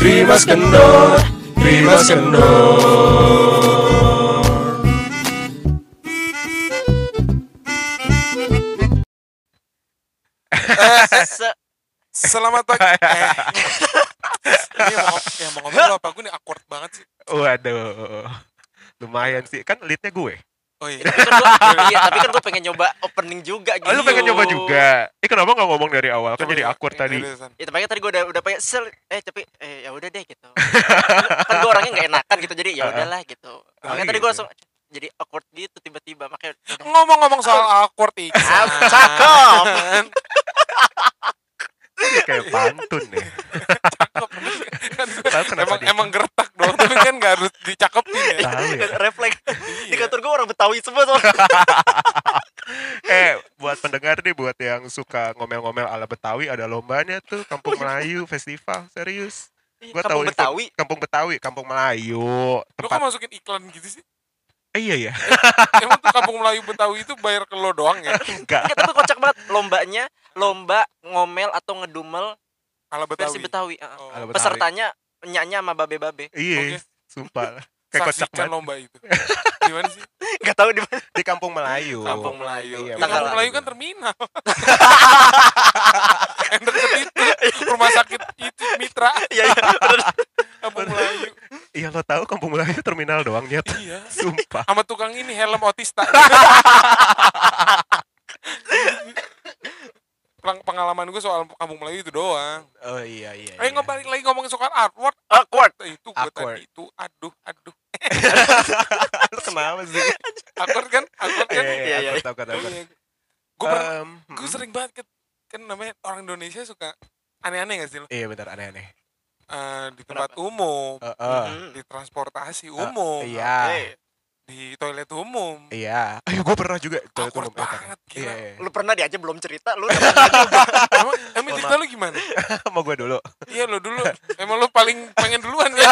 Rimas Kendor, Rimas Kendor. Selamat pagi. Ini mau ngomong lo apa? Gue nih awkward banget sih. Waduh, lumayan sih. Kan leadnya gue. Oh iya. Tapi kan gue pengen nyoba opening juga gitu. Oh, lu pengen nyoba juga? Kenapa nggak ngomong dari awal? Kan Coba, jadi coba. awkward tadi. Ya tapi tadi gue udah pengen tapi ya udah deh gitu. Kan gue orangnya nggak enakan gitu, jadi ya udahlah gitu. Makanya tadi gue gitu. langsung jadi awkward gitu tiba-tiba, makanya udah. Ngomong-ngomong soal awkward Iksan. Cakep. Ini kayak pantun ya. Tahu kenapa dia? Emang gertak dong, tapi kan nggak harus dicakepin ya. Tahu ya. Refleks. Di kantor gue orang Betawi semua soalnya. Buat pendengar nih, buat yang suka ngomel-ngomel ala Betawi, ada lombanya tuh, Kampung Melayu Festival, serius. Gua tahu Kampung Betawi. Kampung Melayu, Lo kok tempat. masukin iklan gitu sih? Iya ya. Emang tuh Kampung Melayu Betawi itu bayar ke lo doang ya? Enggak. Enggak, tapi kocak banget lombanya, lomba ngomel atau ngedumel Ala versi Betawi. Betawi. Oh. Ala Betawi. Pesertanya nyanyi sama babe-babe. Iya, Oke. sumpah. Kayak kocak Saksikan banget. lomba itu. Di mana sih? Enggak tahu di mana. Di Kampung Melayu. Kampung Melayu. Iya, Ya, Tanggal Kampung lah. Melayu kan terminal. Yang deket itu rumah sakit itu Mitra. Iya, bener. Kampung Melayu. Iya, lo tahu Kampung Melayu terminal doang, Nyet. Iya. Sumpah. Sama tukang ini helm otista. Pengalaman gue soal Kampung Melayu itu doang. Oh iya. Ayo ngebalik lagi ngomongin soal artwork. Awkward. Itu gue Awkward. tadi itu aduh. Lu kenapa sih? Awkward kan? Iya. Aku tahu. Gue sering banget kan namanya orang Indonesia suka aneh-aneh gak sih lo? Iya, bentar, aneh-aneh. Di tempat umum, di transportasi umum, Iya. Oke. di toilet umum. Iya. Ayo, gue pernah juga. Awkward banget, gila. Iya. Lu pernah dia aja belum cerita, lu Emang cerita lu gimana? Mau gue dulu. Iya lo dulu. Emang lo paling pengen duluan ya?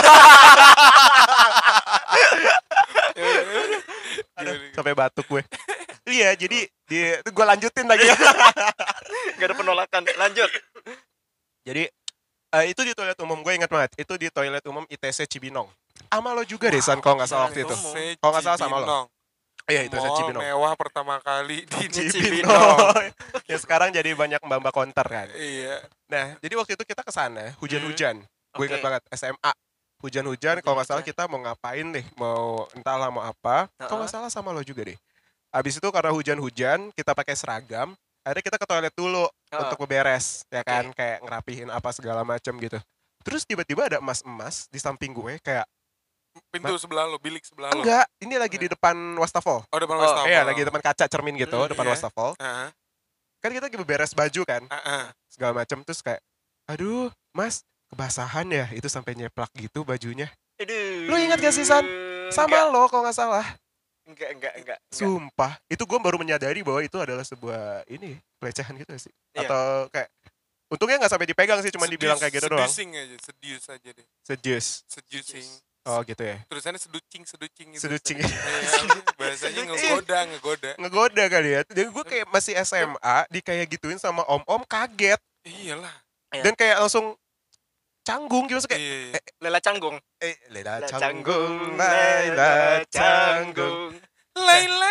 Sampai batuk gue. Iya, jadi gue lanjutin lagi. Gak ada penolakan. Lanjut. Jadi itu di toilet umum, gue ingat banget. Itu di toilet umum ITC Cibinong. Sama lo juga deh, San, kalau nggak salah waktu itu. Kalau nggak salah sama lo. Iya, ITC Mall Cibinong. mewah pertama kali di Cibinong. Ya sekarang jadi banyak mbak-mbak konter kan. Iya. Nah, jadi waktu itu kita ke sana, hujan-hujan. Gue ingat Oke. banget, SMA. Hujan-hujan, kalau nggak salah kita mau ngapain deh, mau entahlah mau apa. Kalau nggak salah sama lo juga deh. Abis itu karena hujan-hujan, kita pakai seragam. Akhirnya kita ke toilet dulu untuk beberes, ya kan, kayak ngerapihin apa segala macam gitu. Terus tiba-tiba ada emas-emas di samping gue, kayak Pintu sebelah lo, bilik sebelah lo. enggak, ini lagi di depan wastafel. Oh, depan Oh, wastafel. Iya, lagi di depan kaca cermin gitu, depan iya. wastafel. Heeh. Kan kita lagi beberes baju kan, Heeh. segala macam, terus kayak, aduh, Mas, kebasahan ya, itu sampai nyeplak gitu bajunya. Aduh. Lu ingat gak sih, San? Sama lo kalau nggak salah. Enggak. Sumpah, itu gue baru menyadari bahwa itu adalah sebuah ini pelecehan gitu sih. Iya. Atau kayak untungnya nggak sampai dipegang sih, cuma dibilang kayak gitu doang. Seducing aja, sedius aja deh. Seducing. Oh gitu ya. Tulisannya seducing gitu. Seducing. Iya, bahasanya ngegoda. Ngegoda kali ya. Dan gue kayak masih SMA di kayak gituin sama om-om, kaget. Iyalah. Dan kayak langsung canggung gitu kayak Iya. Lela Canggung. Lela Lela canggung, Lela canggung. Laila.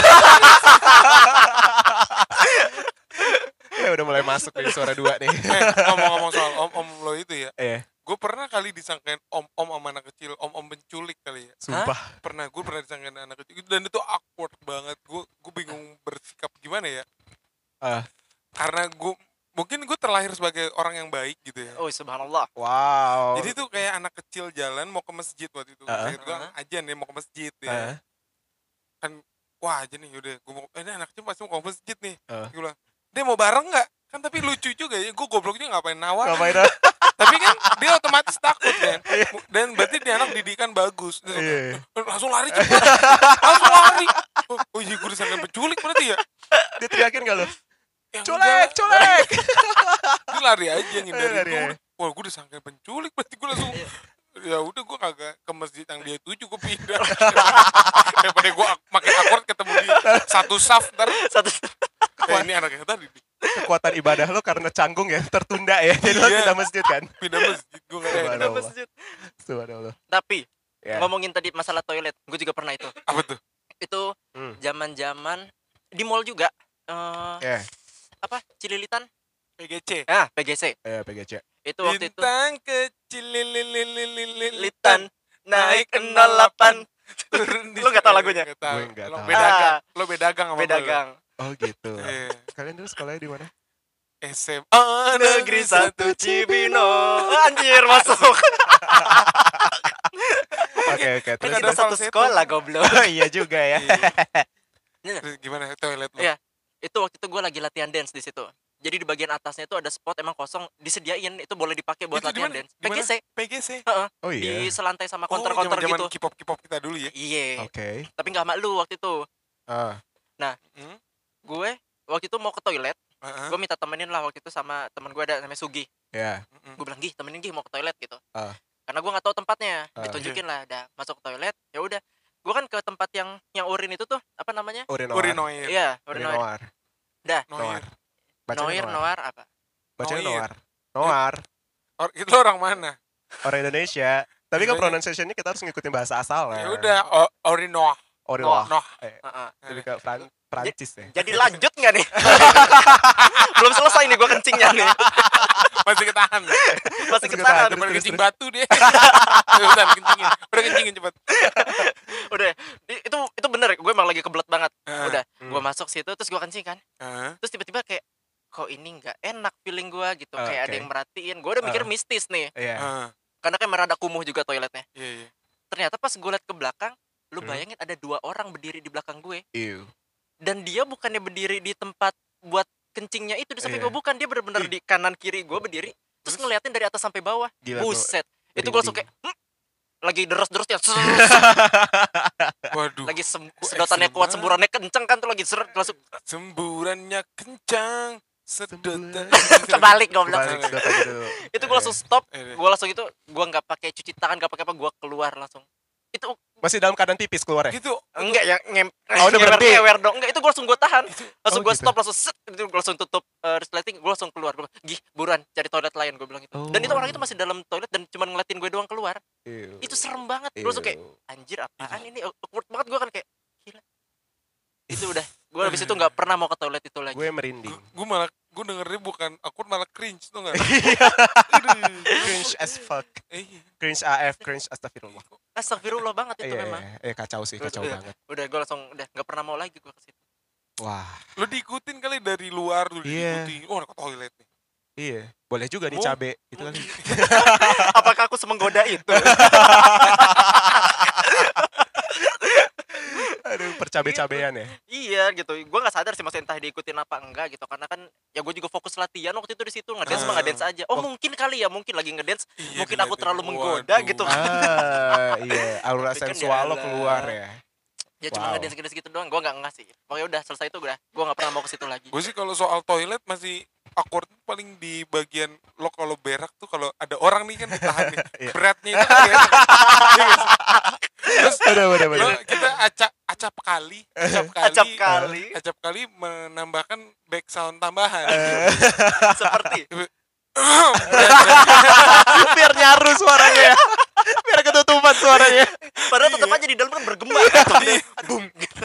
Ya udah mulai masuk nih suara dua nih. Ngomong-ngomong soal om-om lo itu ya. Iya, Gue pernah kali disangkain om-om sama anak kecil, om-om penculik kali ya. sumpah. Gue pernah disangkain anak kecil dan itu awkward banget. Gue bingung bersikap gimana ya. Ah. Karena mungkin gue terlahir sebagai orang yang baik gitu ya. Oh, subhanallah. Wow. Jadi tuh kayak anak kecil jalan mau ke masjid waktu itu. Saya itu kan ajan ya mau ke masjid ya. Kan wah aja nih udah gue mau ini anak kecil pasti mau ke masjid nih. Gue bilang, "Dia mau bareng nggak?" Kan tapi lucu juga ya. Gue gobloknya ngapain nawar. Ngapain? Tapi kan dia otomatis takut kan. Dan berarti dia anak didikan bagus. Dia Iya. langsung lari cepat. Langsung lari. Oh iya gue disangka penculik berarti ya. Dia teriakin gak lo? Ya, Colek, enggak. colek. Dia lari aja Lari ngindari aja. gue. Wah gue disangka penculik berarti gue langsung ya udah gue kagak ke masjid yang dia tuju gue pindah. Daripada gue makin akord ketemu di satu saf ntar. Ini anaknya tadi Kekuatan ibadah lo karena canggung ya tertunda ya. Jadi lo Iya. pindah masjid kan. pindah masjid. Gue gak Udah enak. masjid. Subhanallah. Tapi Ya. ngomongin tadi masalah toilet, gue juga pernah itu. Apa tuh? Itu Hmm. zaman-zaman di mall juga. Ya, Apa? Cililitan? PGC. PGC. PGC. Itu waktu itu Bintang kecil lilitan Litan naik 08. turun di. Lu nggak tahu lagunya? Nggak tahu. Gue nggak Lo tahu. bedagang. Lo bedagang sama Beda gue. gang. Oh gitu. Iya. Kalian dulu sekolahnya di mana? SMA Negeri 1 Cibinong. Anjir masuk. Oke, Kan terus ada kita satu falsetto. sekolah goblok. Oh iya juga ya. Terus gimana toilet lo? Iya. Itu waktu itu gue lagi latihan dance di situ. Jadi di bagian atasnya itu ada spot emang kosong, disediain itu boleh dipakai buat Itu latihan dimana? dance. Dimana? PGC. PGC. Oh Di iya. selantai sama Oh, counter-counter zaman-zaman gitu. K-pop kita dulu ya. Iya. Oke. Tapi nggak sama lu waktu itu. Ah, Hmm? Gue waktu itu mau ke toilet. Heeh. Gue minta temenin lah waktu itu sama teman gue ada namanya Sugi. ya. Gue bilang Gih temenin Gih mau ke toilet gitu. Ah. Karena gue nggak tahu tempatnya. Ah. Ditunjukin lah. Udah masuk ke toilet. Ya udah. Gue kan ke tempat yang urin itu tuh apa namanya? Urinoir. Urinoir. Iya urinoir. Urinoir. Dah. Noir. Bacanya Noir apa? Bacanya Noir. Noir. Noir. Itu orang mana? Orang Indonesia. Tapi kan Bedanya- pronunciation-nya kita harus ngikutin bahasa asal Ya ya. udah Orinoir. Urinoir. Noh. Heeh. Jadi ke Prancis ya. Jadi lanjut nggak nih? Belum selesai nih gue kencingnya nih. Masih ketahan. Masih Terus ketahan. Udah pada terus, kencing terus. batu dia. Udah kencingin. Udah kencingin cepet. Udah. Itu bener. Gue emang lagi kebelet banget. Heeh. Udah. Hmm. Gue masuk situ terus gue kencing kan. Heeh. Terus tiba-tiba kayak kok ini nggak enak feeling gue gitu. Oke. Kayak ada yang merhatiin. Gue udah mikir mistis nih. Iya. Heeh. Karena kan merada kumuh juga toiletnya. Iya, iya. Ternyata pas gue liat ke belakang. Lu Hmm. bayangin ada 2 orang berdiri di belakang gue. Ew. Dan dia bukannya berdiri di tempat buat kencingnya itu di samping Iya. gue. Bukan. Dia bener-bener di kanan kiri gue berdiri. Terus ngeliatin dari atas sampai bawah. Gila tuh. Buset. Itu gue langsung kayak lagi deres-deres ya. Waduh. Lagi Kok sedotannya ekstrim kuat, banget. semburannya kenceng kan tuh lagi seret langsung Semburannya kencang. Sedotan. kebalik goblok. Balik sedotan dulu. Itu gue langsung stop, Iya. gue langsung itu gue nggak pakai cuci tangan, nggak pakai apa, gue keluar langsung. Itu Masih dalam keadaan tipis keluar ya? Gitu. enggak ya Oh, udah berhenti? ngewer dong. Enggak, itu gue langsung gue tahan. Langsung Oh, gue gitu. stop, langsung set, itu gue langsung tutup resleting, gue langsung keluar. Gue bilang, Gih, buruan cari toilet lain, gue bilang itu. Dan itu Oh. orang itu masih dalam toilet dan cuma ngeliatin gue doang keluar. Ew. Itu serem banget. Gue langsung kayak Ew. anjir apaan ini, awkward banget gue kan kayak gila. Itu udah, gue habis itu nggak pernah mau ke toilet itu lagi. Gue merinding. Gue dengernya bukan aku malah cringe tuh nggak? Cringe as fuck. Iya. Cringe AF, cringe astagfirullah. Astagfirullah banget itu Iya, memang. kacau sih, kacau Iya. banget. Udah gue langsung udah nggak pernah mau lagi gue ke situ. Wah, Lo diikutin kali dari luar tuh Iya. diikutin. Oh, ke toilet nih. iya. Boleh juga nih Oh. cabe. Itu kan. Apakah aku semenggoda itu? Aduh, percabe-cabean ya. Iya gitu. Gue nggak sadar sih maksudnya entah diikutin apa enggak gitu. Karena kan ya gue juga fokus latihan waktu itu di situ ngedance mah ngedance aja. Oh mungkin kali ya, mungkin lagi ngedance. Iya, Mungkin aku diliatin. terlalu menggoda Waduh. gitu. Iya, aura Tapi kan sensual lo ya keluar Allah. ya. Ya cuma Wow. ngedance gitu doang. Gue nggak ngasih. Pokoknya udah selesai itu udah. Gue nggak pernah mau ke situ lagi. Gue sih kalau soal toilet masih awkward paling di bagian lo kalau berak tuh kalau ada orang nih kan ditahan nih. Iya. Beratnya itu kan ya. Iya nggak sih? Terus Bener. lo kita acap kali Acap kali menambahkan back sound tambahan. seperti Biar nyaru suaranya ya. Biar ketutupan suaranya. padahal tetap aja di dalam kan bergema. Iya. Boom gitu.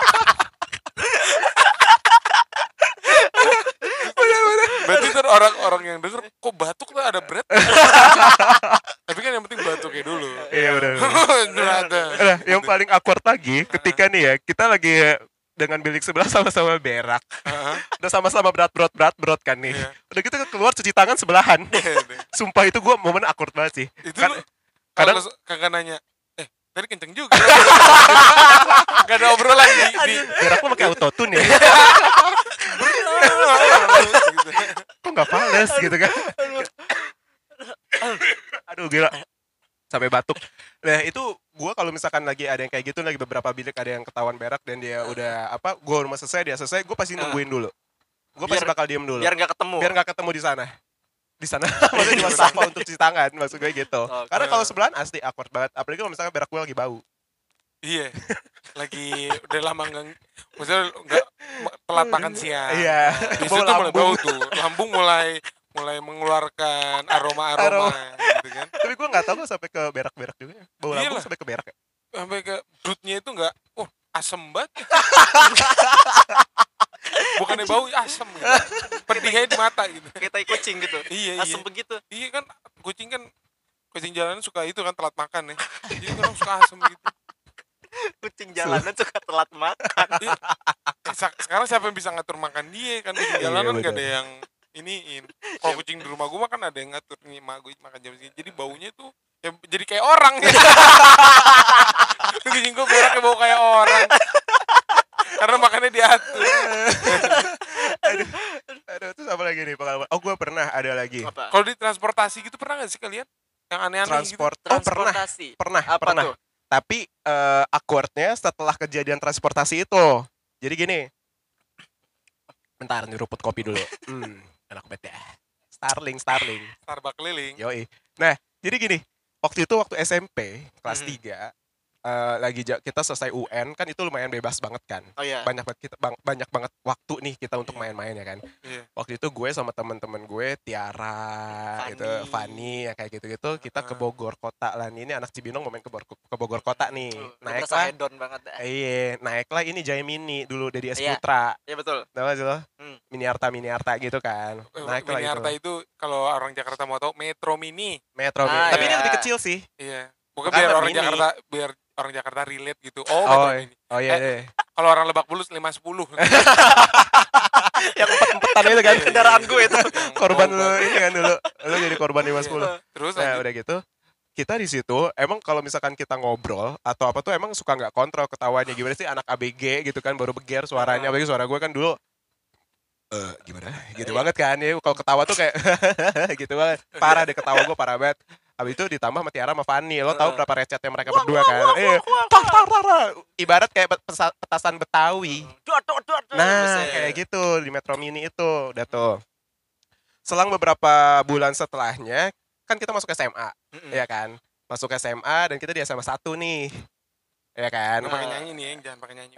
Berarti ntar orang-orang yang denger kok batuk tuh ada berat. Tapi kan yang penting batuknya dulu. Iya, bener. Ada. Nah, yang paling awkward lagi ketika nih ya, kita lagi dengan bilik sebelah sama-sama berak. Udah sama-sama berat kan nih. Iya. Udah kita keluar cuci tangan sebelahan. Sumpah itu gue momen awkward banget sih. Itu Kan- lu kadang- kalau kakak nanya, tadi kenceng juga. Gak ada obrolan di berak lo pakai autotune ya. gitu. Kok nggak fales gitu kan. Aduh gila. Sampai batuk. Nah itu gue kalau misalkan lagi ada yang kayak gitu, lagi beberapa bilik ada yang ketahuan berak dan dia udah apa, gue rumah selesai, dia selesai, gue pasti nungguin dulu. Gue pasti Biar- bakal diem dulu. Biar nggak ketemu. Biar nggak ketemu di sana. Di sana maksudnya di Wasafa untuk cuci tangan, maksud gue gitu. Oke. Karena kalau sebelahan asli awkward banget, apalagi kalau misalkan berak gue lagi bau. Iya. Lagi udah lama maksudnya enggak telat makan siang. Iya. Di Bau situ mulai lambung. bau tuh. Lambung mulai mengeluarkan aroma-aroma gitu kan. Tapi gue nggak tahu kok sampai ke berak-berak juga. Bau lambung Iyalah. sampai ke berak ya. Sampai ke brutnya itu enggak, asem banget. Bukannya bau, asem gitu. Pedihnya di mata gitu. Kayak tai kucing gitu. Iya. Asem begitu. Iya kan, kucing jalanan suka itu kan telat makan ya. Jadi orang suka asem gitu. Kucing jalanan suka telat makan. Iya. Sekarang siapa yang bisa ngatur makan dia kan, kucing jalanan gak ada yang iniin. Kalau kucing di rumah gue mah kan ada yang ngatur nih, mak gue makan jam segini. Jadi baunya tuh ya jadi kayak orang ya. Kucing gue beraknya bau kayak orang. Karena makannya diatur. Aduh, terus apa lagi nih pengalaman? Oh, gue pernah ada lagi. Apa? Kalau di transportasi gitu pernah gak sih kalian? Yang aneh-aneh Transport. gitu? Oh, pernah. Transportasi. Pernah. Apa tuh? Tapi awkwardnya setelah kejadian transportasi itu. Jadi gini. Bentar, nyeruput kopi dulu. Enak banget ya. Starling. Starbucks keliling. Yoi. Nah, jadi gini. Waktu SMP, kelas 3. Kita selesai UN kan itu lumayan bebas banget kan. Oh iya. Banyak banget waktu nih kita untuk main-main ya kan. Iya. Waktu itu gue sama teman-teman gue Tiara, Fanny ya kayak gitu-gitu, kita ke Bogor kota lah. Ini anak Cibinong mau main ke Bogor kota nih. Naiklah. Hedon banget dah. Iya, naiklah ini Jaya Mini dulu dari S Iya. Putra. Iya betul. Tahu gak sih lo? Mini Harta gitu kan. Naiklah Mini Harta itu kalau orang Jakarta mau tahu Metro Mini. Metro Mini. Tapi iya. ini lebih kecil sih. Iya. Bukan Karena biar orang Jakarta relate gitu. Oh, Metro Mini. iya. Kalau orang Lebak Bulus 510. Yang empet-empetan itu kan. Kendaraan gue itu. Korban lu ini kan dulu. Lu jadi korban 510. Terus Nah, lanjut. udah gitu. Kita di situ emang kalau misalkan kita ngobrol atau apa tuh emang suka nggak kontrol ketawanya, gimana sih anak ABG gitu kan, baru beger suaranya, apalagi suara gue kan dulu gimana gitu banget kan ya, kalau ketawa tuh kayak gitu banget, parah deh ketawa gue, parah banget. Habis itu ditambah sama Tiara sama Fanny, lo tahu berapa recetnya mereka berdua kan, ibarat kayak petasan Betawi. Nah kayak gitu di Metro Mini itu. Udah tuh selang beberapa bulan setelahnya kan kita masuk SMA, ya kan, masuk SMA dan kita di SMA 1 nih, ya kan. Nggak pakai nyanyi nih, jangan pakai nyanyi.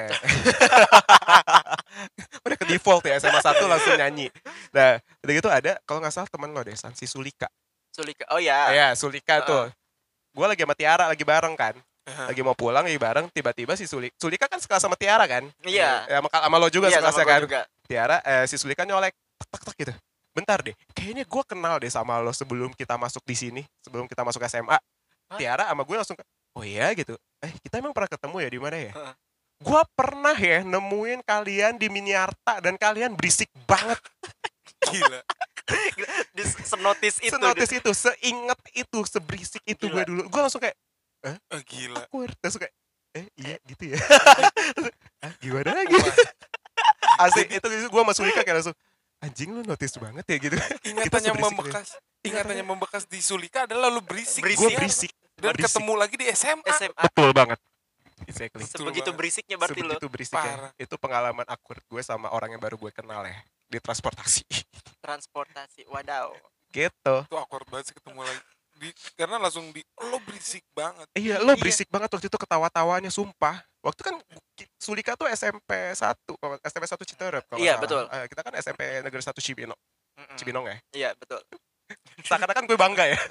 Udah ke default ya, SMA 1 langsung nyanyi. Nah udah gitu ada kalau nggak salah teman lo deh, si Sulika. Oh ya. Ya Sulika tuh, gue lagi sama Tiara lagi bareng kan, lagi mau pulang lagi bareng, tiba-tiba si Sulika kan sekelas sama Tiara kan. Iya. Ya sama lo juga sekelasnya kan. Juga. Tiara si Sulika nyolek tak gitu. Bentar deh, kayaknya gue kenal deh sama lo sebelum kita masuk di sini, sebelum kita masuk SMA. Tiara sama gue langsung, oh iya gitu. Kita emang pernah ketemu ya di mana ya? Gue pernah ya nemuin kalian di Mini Harta dan kalian berisik banget. Gila. Senotis itu. Seinget itu, seberisik itu gue dulu. Gue langsung kayak, Gila. Aku langsung kayak, iya gitu ya. Gimana lagi? Asik itu gue sama Sulika kayak langsung, anjing lu notice banget ya gitu. Ingatannya membekas di Sulika adalah lu berisik. Gue berisik. Dan ketemu lagi di SMA. Betul banget. Exactly. Sebegitu berisiknya berarti lo. Sebegitu berisiknya. Itu pengalaman awkward gue sama orang yang baru gue kenal ya di transportasi. Wadaw. Gitu. Itu awkward banget sih ketemu lagi. Karena langsung lo berisik banget. Iya, lo berisik banget waktu itu, ketawa-tawanya sumpah. Waktu kan Sulika tuh SMP 1 Citerep kalau iya, salah. Betul. Kita kan SMP Negeri 1 Cibinong ya. Iya, betul. Seakan-akan gue bangga ya.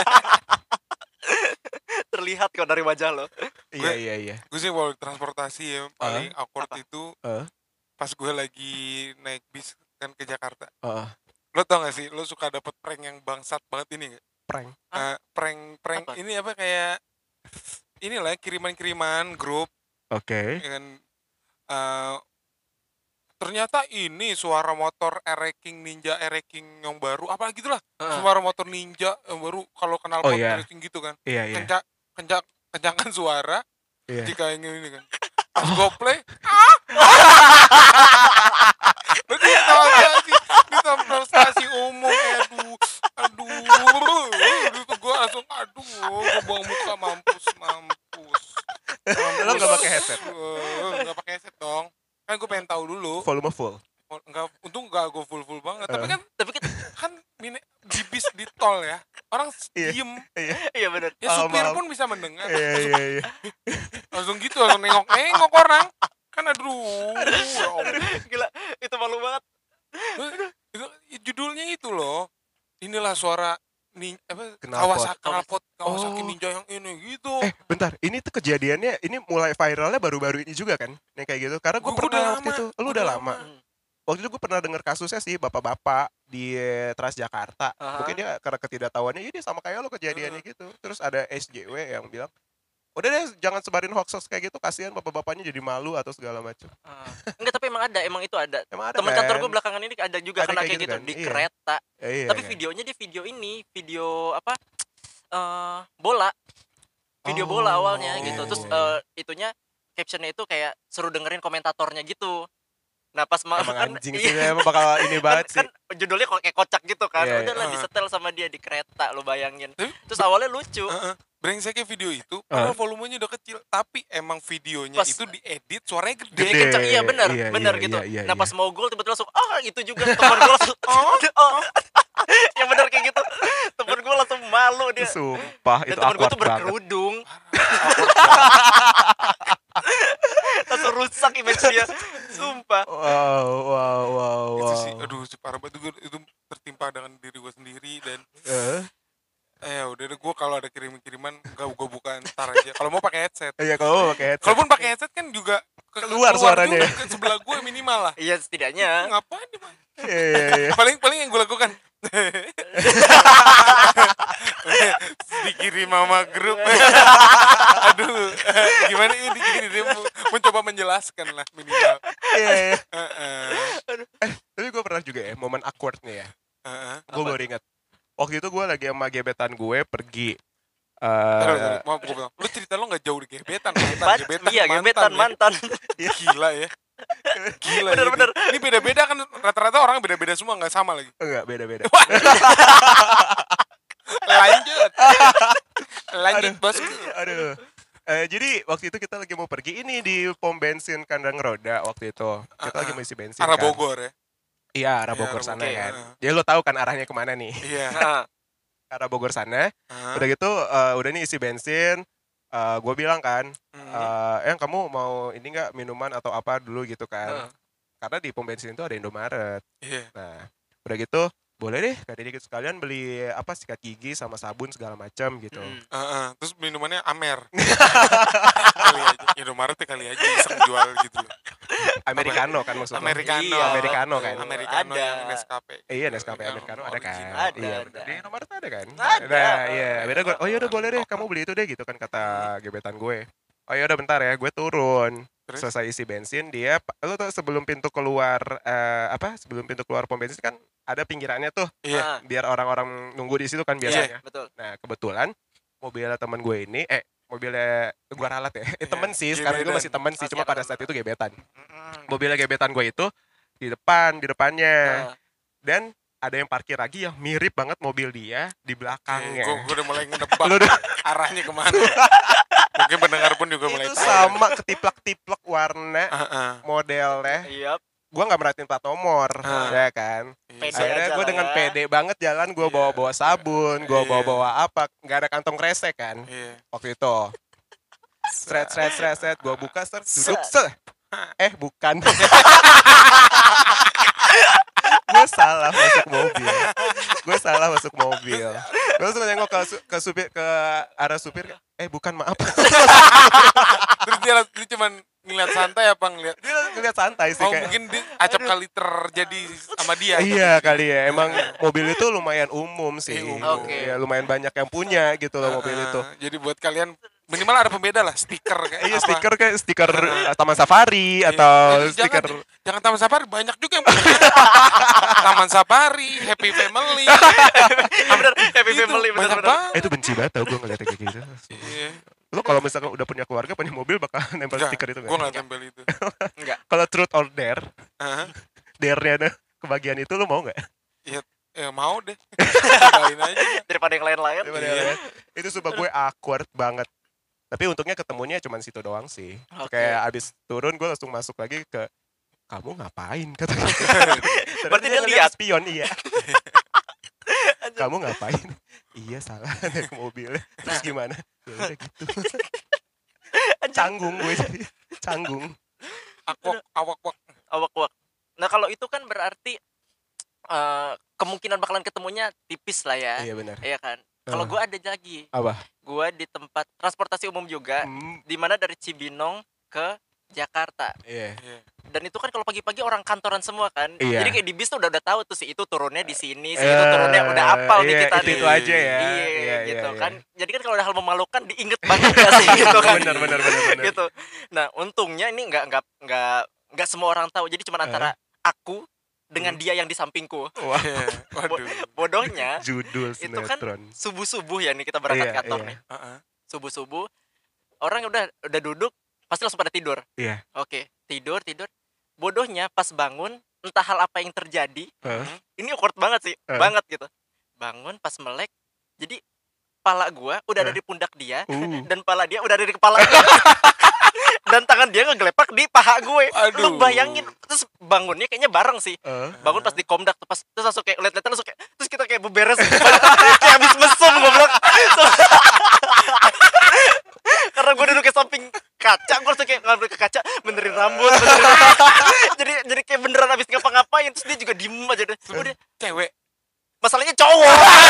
Terlihat kok dari wajah lo. Iya. Gue sih kalau transportasi ya paling awkward itu pas gue lagi naik bis kan ke Jakarta. Lo tau gak sih, lo suka dapet prank yang bangsat banget ini gak? Prank? Prank apa? Ini apa kayak inilah kiriman-kiriman grup. Oke. Ya kan, ternyata ini suara motor Ninja Ereking yang baru, apa gitulah. Suara motor Ninja yang baru kalau kenal pot Ereking gitu kan. Iya. Kencangkan suara jika ingin ini kan. Pas gue play, berarti di tempat stasi umum, aduh, itu gue langsung, gue buang muka, mampus. Lo gak pakai headset? Gak pakai headset dong, kan gue pengen tahu dulu. Volume full? Enggak, untung gak gue full banget. Tapi kan di bis di tol ya, orang diem. Iya benar. Ya supir pun bisa mendengar. Iya. Langsung gitu, langsung nengok orang. Kan aduh. Gila, itu malu banget. Judulnya itu loh. Inilah suara Kawasaki Ninja yang ini gitu. Bentar, ini tuh kejadiannya ini mulai viralnya baru-baru ini juga kan? Yang kayak gitu. Karena gue pernah waktu itu, lu udah lama. Waktu itu gue pernah dengar kasusnya sih bapak-bapak di Transjakarta. Mungkin dia karena ketidaktahuannya, dia sama kayak lo kejadiannya gitu. Terus ada SJW yang bilang, udah deh jangan sebarin hoax kayak gitu, kasihan bapak-bapaknya jadi malu atau segala macam. Enggak, tapi emang itu ada. Emang ada Temen kan? kantor gue belakangan ini ada juga Ada kena kayak kayak gitu gitu kan? di Iya. kereta. Iya, Tapi kan? videonya dia video apa? Bola. Video bola awalnya gitu. Terus itunya captionnya itu kayak seru dengerin komentatornya gitu. Nah pas Emang anjing sih, emang bakal ini banget sih. Kan judulnya kok kayak kocak gitu kan. Iya, Udahlah disetel sama dia di kereta, lo bayangin. Terus awalnya lucu. Brengseknya video itu, padahal volumenya udah kecil, tapi emang videonya Pas- itu diedit suaranya gede. Dia kencang, iya benar, Iya, benar iya, gitu. iya, Nah iya. pas mau gol tiba-tiba langsung itu juga teman gue langsung ya benar kayak gitu. Temen gue langsung malu dia. Sumpah, Dan itu temen gue awkward tuh banget. berkerudung. Langsung rusak image dia. Sumpah. Wow. Itu sih, aduh parah banget itu tertimpa dengan diri gue sendiri dan udah deh, gue kalau ada kiriman gue buka ntar aja. Kalau mau pakai headset. Iya, kalau pakai headset. Kalaupun pakai headset kan juga Keluar suaranya. juga ke sebelah gue minimal lah. Iya setidaknya. Ngapain nih, Pak? Iya. Paling yang gue lakukan dikirim sama grup. Aduh, gimana ini dikirim, mencoba menjelaskan lah minimal. Iya. Tapi gue pernah juga ya momen awkward nih ya. Gue baru ingat. Waktu itu gue lagi sama gebetan gue pergi. Maaf gue bilang, lu cerita lo gak jauh di gebetan. Iya gebetan mantan. Ya. Gila ya. Gila. Bener-bener. Ini beda-beda kan, rata-rata orang beda-beda semua, gak sama lagi. Enggak, beda-beda. Lanjut bosku. Aduh. Jadi waktu itu kita lagi mau pergi ini di pom bensin Kandang Roda waktu itu. Kita lagi mau isi bensin Arah kan. Bogor ya. Iya, arah Iya, Bogor arah sana Bogor. kan. Jadi lo tahu kan arahnya kemana nih? Iya. Ke arah Bogor sana. Udah gitu, udah nih isi bensin. Gue bilang kan, kamu mau ini nggak minuman atau apa dulu gitu kan? Karena di pom bensin itu ada Indomaret. Iya. Nah, udah gitu, boleh deh, kata dia gitu sekalian beli apa sikat gigi sama sabun segala macam gitu. Terus minumannya Amer. Kali aja. Indomaret kali aja iseng jual gitu loh. Americano kan maksudnya. Americano. Iya, Americano kan. Americano Ada. yang Nescafe. Iya, Nescafe Yang Americano ada kan. original. Ada, Iya, ada. bener. Di Indomaret ada kan? Ada. Nah, iya. Beda gue, oh yaudah boleh deh, kamu beli itu deh gitu kan kata gebetan gue. Oh yaudah bentar ya, gue turun. Terus? Selesai isi bensin, dia, lo tau sebelum pintu keluar, sebelum pintu keluar pom bensin kan ada pinggirannya tuh. Iya. Biar orang-orang nunggu di situ kan biasanya. Betul. Nah, kebetulan mobilnya teman gue ini, mobilnya gue ralat ya. Temen sih, sekarang gue Gebetan. masih temen sih, Masih cuma ada pada saat temen. itu gebetan. Mobilnya gebetan gue itu di depannya. Dan ada yang parkir lagi yang mirip banget mobil dia di belakangnya. Gue udah mulai ngedebak Lu udah- arahnya kemana. Mungkin pendengar pun juga mulai itu tahu. sama ketiplak-tiplak warna Heeh. modelnya. Iya. Gue nggak merhatiin plat nomor, ya kan. Pede Akhirnya aja gue lah dengan ya. pede banget jalan, gue bawa-bawa sabun, gue Iya. bawa-bawa apa, nggak ada kantong kresek kan Iya. waktu itu. Seret, gue buka, duduk, bukan. Gue salah masuk mobil. Terus nengok ke supir, ke arah supir, bukan, maaf. Terus dia cuman ngeliat santai apa ngeliat? Dia ngeliat santai sih Oh kayak. mungkin acap kali terjadi sama dia. Iya kali ya, emang mobil itu lumayan umum sih. Umum. Oke. Ya, lumayan banyak yang punya gitu loh mobil itu. Jadi buat kalian minimal ada pembeda lah, stiker kayak Iya, apa. stiker kayak stiker Taman Safari atau stiker Jangan Taman Safari, banyak juga yang punya. Taman Safari, Happy Family. Bener, happy Itu family banyak bener-bener. banget. itu benci banget tau gue ngeliatnya kayak gitu. Iya. Lo kalau misalkan udah punya keluarga, punya mobil bakal nempel Enggak, stiker itu gue nggak? nggak tempel itu. Enggak. Kalau truth or dare, Hah? dare-nya ada kebagian itu lo mau nggak? Ya mau deh. Cobain aja. Daripada yang lain-lain. Iya. Itu sumpah gue awkward banget. Tapi untungnya ketemunya cuma situ doang sih. Oke. Kayak abis turun gue langsung masuk lagi ke, kamu ngapain kata dia. Berarti dia ngeliat lihat. spion, iya. Kamu ngapain? Iya salah naik mobilnya. Terus gimana? Ya udah gitu. Canggung gue jadi. Canggung. Awak. Awak-awak. Nah kalau itu kan berarti kemungkinan bakalan ketemunya tipis lah ya. Iya benar. Iya kan. Kalau gue ada lagi. Apa? Gue di tempat transportasi umum juga, di mana dari Cibinong ke Jakarta. Iya. Dan itu kan kalau pagi-pagi orang kantoran semua kan. Iya. Jadi kayak di bis tuh udah tahu tuh si itu turunnya di sini, si itu turunnya udah apal nih kita nih. Itu aja ya. Iya gitu kan. Jadi kan kalau ada hal memalukan diinget banget gak sih gitu kan. Benar. Gitu. Nah, untungnya ini enggak semua orang tahu. Jadi cuma antara aku dengan dia yang di sampingku. Waduh. Bodohnya Judul itu kan sinetron. subuh-subuh ya nih kita berangkat kantor nih. Subuh-subuh orang udah duduk pasti langsung pada tidur. Iya. Oke, tidur. Bodohnya pas bangun entah hal apa yang terjadi. Ini awkward banget sih, banget gitu. Bangun pas melek. Jadi pala gua udah ada di pundak dia dan pala dia udah ada di kepala gua. Dan tangan dia ngegelepak di paha gue. Lu bayangin, terus bangunnya kayaknya bareng sih. Bangun pas di komdak tuh, terus langsung kayak liat-liatan langsung kayak, terus kita kayak beberes kayak habis mesum goblok. Karena gue duduk ke samping kaca, gue langsung kayak ngambil ke kaca, benerin rambut, jadi kayak beneran habis ngapa-ngapain. Terus dia juga diem aja deh. Udah Cewek. Masalahnya cowok.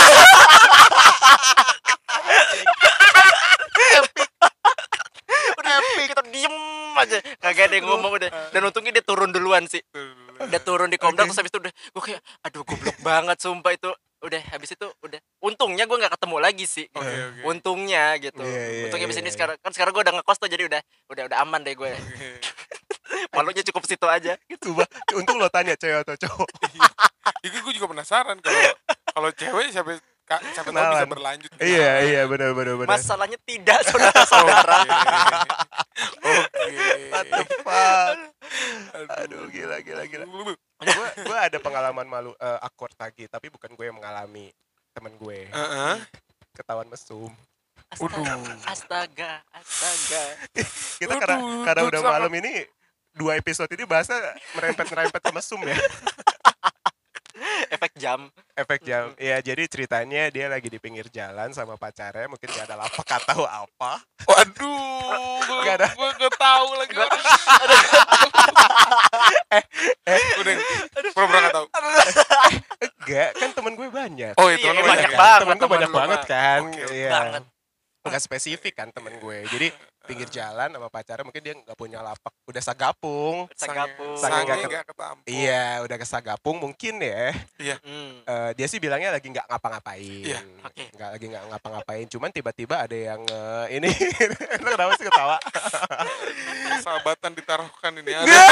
Kita diem aja, kagak ada yang ngomong udah. Dan untungnya dia turun duluan sih. Udah turun di komdak terus habis itu udah gue kayak aduh goblok banget sumpah itu. Udah habis itu udah. Untungnya gue nggak ketemu lagi sih. Untungnya gitu. Untungnya abis ini sekarang gue udah ngekos tuh, jadi udah aman deh gue. Malunya cukup situ aja gitu. Untung lo tanya cewek atau cowok. Itu gue juga penasaran kalau cewek siapa tahu bisa berlanjut. Iya benar. Masalahnya tidak saudara-saudara. What the fuck? Aduh gila. Gue ada pengalaman malu awkward lagi, tapi bukan gue yang mengalami, temen gue. Ketahuan mesum. Astaga. Kita karena udah malam ini 2 episode ini bahasa merempet ke mesum ya. Efek jam. Ya jadi ceritanya dia lagi di pinggir jalan sama pacarnya, mungkin gak ada lapak atau apa. Waduh, gue gak tahu lagi. Udah, pura-pura gak tahu. Enggak, kan temen gue banyak. Oh itu Iya, banyak banget. Temen gue banyak Temen lu banget kan. Oke, Iya. banget. Enggak spesifik kan temen gue. Jadi pinggir jalan sama pacarnya, mungkin dia nggak punya lapak, udah sagapung. Sange nggak ketampung. Iya, udah kesagapung mungkin ya. Iya. Dia sih bilangnya lagi nggak ngapa-ngapain. Iya. Oke. Nggak ngapa-ngapain. Cuman tiba-tiba ada yang ini. Lo kenapa sih ketawa? Sahabatan ditaruhkan ini.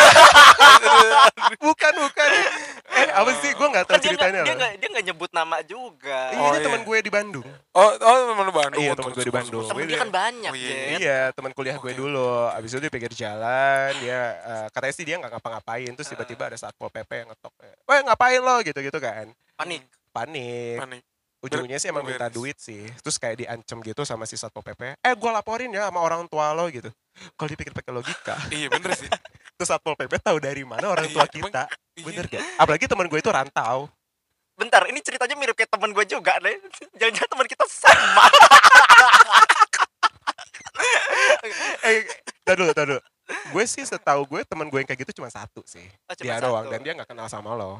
Bukan. Apa sih? Gue nggak tahu Kan ceritanya. dia nggak nyebut nama juga. Ini teman gue di Bandung. Oh teman Bandung. Iya, teman gue di Bandung. Temen dia kan banyak. Iya, teman kuliah gue dulu. Abis itu dia pinggir jalan, dia katanya sih dia nggak ngapa-ngapain, terus tiba-tiba ada Satpol PP yang ngetok. Weh, ngapain lo gitu kan? Panik. Ujungnya sih emang minta duit sih. Terus kayak diancem gitu sama si Satpol PP. Gue laporin ya sama orang tua lo gitu. Kalau dipikir pakai logika. Iya bener sih. Terus Satpol PP tahu dari mana orang tua kita? Bener gak? Apalagi teman gue itu rantau. Bentar, ini ceritanya mirip kayak teman gue juga deh. Jangan-jangan teman kita sama. Tar dulu. Gue sih setahu gue teman gue yang kayak gitu cuma satu sih. Dia satu. doang, dan dia nggak kenal sama lo.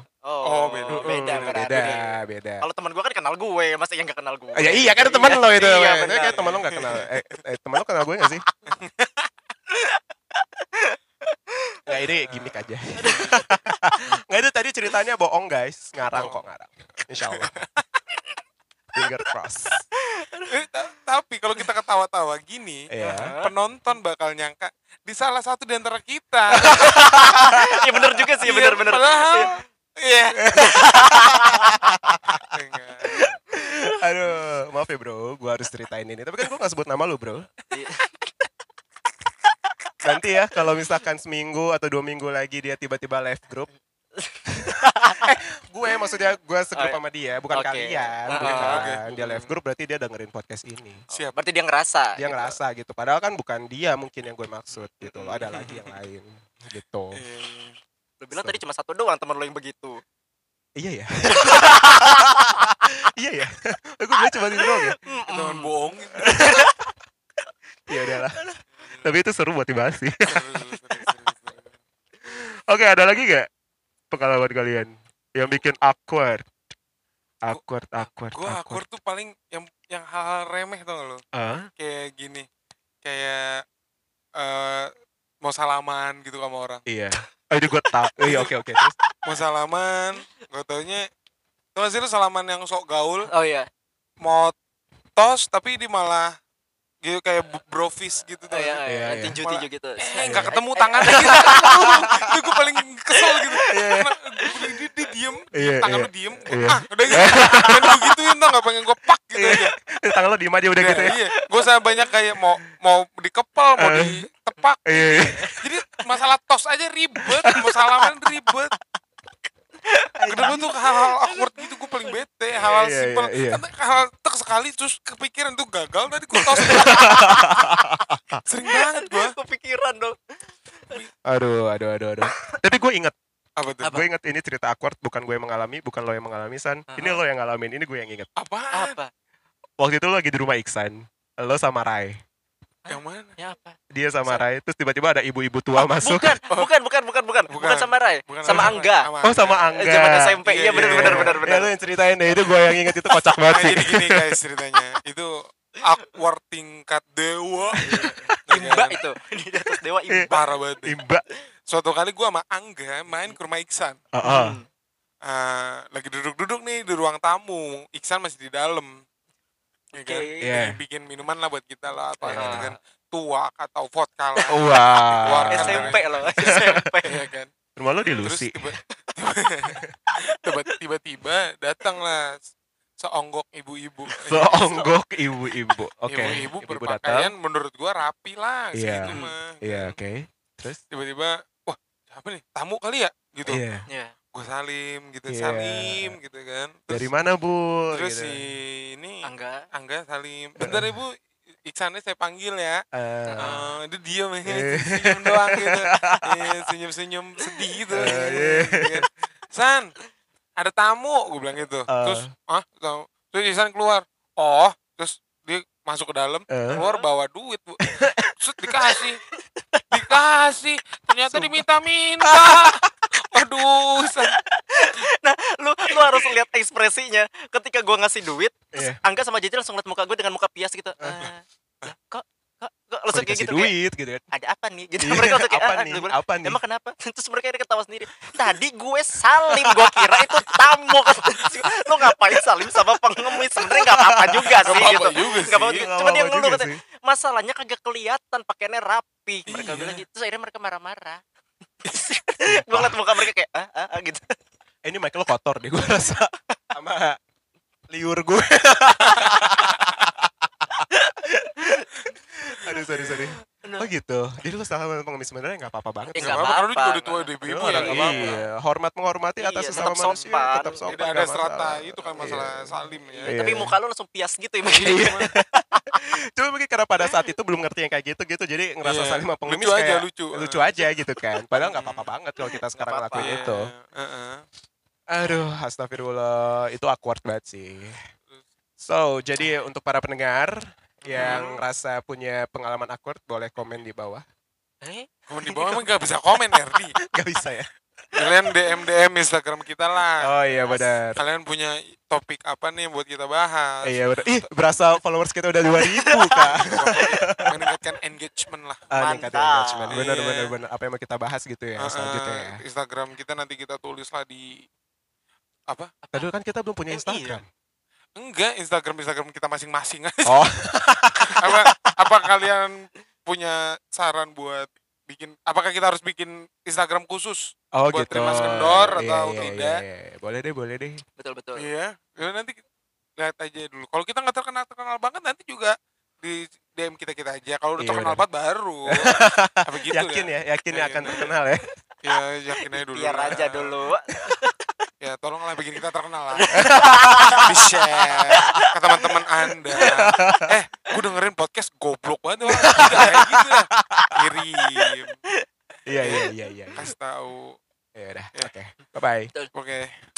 Beda. Kalau teman gue kan kenal gue, masa yang nggak kenal gue? Ya iya kan teman lo itu. Iya, Kayak teman lo nggak kenal. Teman lo kenal gue nggak sih? Nggak, ini gimmick aja. Nggak, itu tadi ceritanya bohong guys, ngarang. Insya Allah. Finger cross. Tapi kalau kita ketawa-tawa gini, penonton bakal nyangka di salah satu di antara kita. Iya bener juga sih, bener. Padahal, iya. Aduh, maaf ya bro, gue harus ceritain ini. Tapi kan gue gak sebut nama lu bro. Nanti ya kalau misalkan seminggu atau 2 minggu lagi dia tiba-tiba left group. Maksudnya gue segrup sama dia, bukan kalian. Dia left group berarti dia dengerin podcast ini. Siap. Berarti dia ngerasa. Dia ngerasa gitu. Padahal kan bukan dia mungkin yang gue maksud gitu. Ada lagi yang lain gitu. Lu bilang tadi cuma satu doang teman lo yang begitu. Iya ya. Iya ya. Gue bilang cuma itu doang ya. Teman bohong. Ya udahlah. Tapi itu seru buat dibahas sih. Oke, ada lagi gak pengalaman kalian yang bikin awkward? Awkward. Gue awkward tuh paling yang hal-hal remeh tau gak lo? Kayak gini, kayak mau salaman gitu sama orang. Iya. Itu gue tau. Iya, oke. Terus Mau salaman, gak taunya tau gak sih lu salaman yang sok gaul? Oh iya. Mau tos tapi di malah gitu kayak brofist gitu tuh. Iya. Tinju gitu. Nggak ketemu tangannya gitu. Itu gue paling kesel gitu. Dia diem, tangan lu diem. Udah gitu. Dan gue gituin tau gak, pengen gue pak gitu aja. tangan lo diem aja udah gitu ya. Iya, gue sama banyak kayak mau dikepel, mau ditepak. Jadi masalah tos aja ribet, mau salaman ribet. Kedua tuh hal-hal awkward gitu gue paling bete, hal-hal simpel. Hal tek sekali terus kepikiran tuh gagal tadi gue tos. Sering banget gue kepikiran dong. Aduh. Tapi gue inget. Apa tuh? Gue inget ini cerita awkward, bukan gue yang mengalami, bukan lo yang mengalami, San. Ini lo yang ngalamin, ini gue yang inget. Apaan? Apa? Waktu itu lo lagi di rumah Iksan, lo sama Rai. Yang mana? Ya apa? Dia sama Rai, terus tiba-tiba ada ibu-ibu tua masuk. Bukan sama Rai, sama Angga. Oh, sama Angga. Zaman SMP. Iya benar. Ya lo yang ceritain deh, itu gue yang inget, itu kocak banget sih. Jadi gini guys ceritanya, itu awkward tingkat dewa. Imba itu. Di atas dewa imba. Parah banget. Imba. Suatu kali gue sama Angga main ke rumah Iksan. Lagi duduk-duduk nih di ruang tamu, Iksan masih di dalam. Ya kan? Lagi bikin minuman lah buat kita lah atau gitu kan. Tuak atau vodka lah. Wah. SMP loh, SMP. Ya kan. Rumah lo di Terus Lucy. tiba-tiba datang lah seonggok ibu-ibu. Seonggok ibu-ibu. Oke. Ibu-ibu berpakaian menurut gua rapi lah segitu mah. Iya, oke. Terus tiba-tiba, wah siapa nih? Tamu kali ya? Gitu. Iya. Gue salim gitu, Iya. salim gitu kan. Terus, dari mana, Bu? Terus gitu. si ini Angga salim. Bentar Ibu, Iksannya saya panggil ya. Dia diem ya, Iya. senyum doang gitu. Senyum-senyum sedih gitu. San, ada tamu, gue bilang gitu. Terus, tamu. Terus Iksan keluar. Oh, terus dia masuk ke dalam, keluar bawa duit, Bu. Terus dikasih. Ternyata diminta-minta. Aduh, San. Nah, lu harus lihat ekspresinya ketika gua ngasih duit, terus Angga sama Jeje langsung lihat muka gue dengan muka pias gitu. Kok langsung kayak gitu duit gitu kan. Ada apa nih? Gitu mereka langsung kayak apa nih? Emang kenapa? Terus mereka ada ketawa sendiri. Tadi gue salim, gue kira itu tamu. Lu ngapain salim sama pengemis? Sebenarnya enggak apa-apa juga sih gitu. Enggak apa-apa. Cuma dia ngeluh katanya, masalahnya kagak kelihatan pakaiannya rapi. Mereka bilang gitu. Terus akhirnya mereka marah-marah. Gue ngeliat muka mereka kayak gitu. Ini mic lo kotor deh gue rasa. Sama liur gue. Aduh, sorry. Oh gitu. Jadi lu sama pengemis sebenarnya nggak apa-apa banget. Nggak apa-apa, karena lu juga udah tua udah ibu ya. Iya, hormat menghormati atas sesama manusia. Tetap sopan. Tidak ada strata itu kan masalah salim ya. Tapi muka lu langsung pias gitu ya. Cuma mungkin karena pada saat itu belum ngerti yang kayak gitu, jadi ngerasa saling sama pengemis kayak lucu aja gitu kan. Padahal nggak apa-apa banget kalau kita sekarang ngelakuin itu. Aduh, astagfirullah, itu awkward banget sih. So, jadi untuk para pendengar yang rasa punya pengalaman awkward, boleh komen di bawah. Komen di bawah emang gak bisa komen, Erdi? Gak bisa ya? Kalian DM Instagram kita lah. Oh iya benar. Kalian punya topik apa nih buat kita bahas? Iya benar. Ih, berasa followers kita udah 2.000 Kak. Meningkatkan engagement lah. Meningkatkan engagement. Benar. Apa yang mau kita bahas gitu ya selanjutnya ya. Instagram kita nanti kita tulis lah di apa? Tadi kan kita belum punya Instagram. Enggak, Instagram kita masing-masing aja. Oh. apa kalian punya saran buat bikin? Apakah kita harus bikin Instagram khusus buat gitu. terima kendor atau tidak? Iya. Boleh deh. Betul. Iya, nanti lihat aja dulu. Kalau kita nggak terkenal banget, nanti juga di DM kita aja. Kalau udah terkenal banget baru. Apa gitu yakin akan terkenal ya. Ya, yakin aja dulu. Biar aja dulu. Ya tolonglah bikin kita terkenal lah. Di-share ke teman-teman Anda. Gue dengerin podcast goblok banget orang. Kayak gitu lah. Kirim. Iya. Kasih tahu. Ya udah. Oke. Bye-bye. Oke.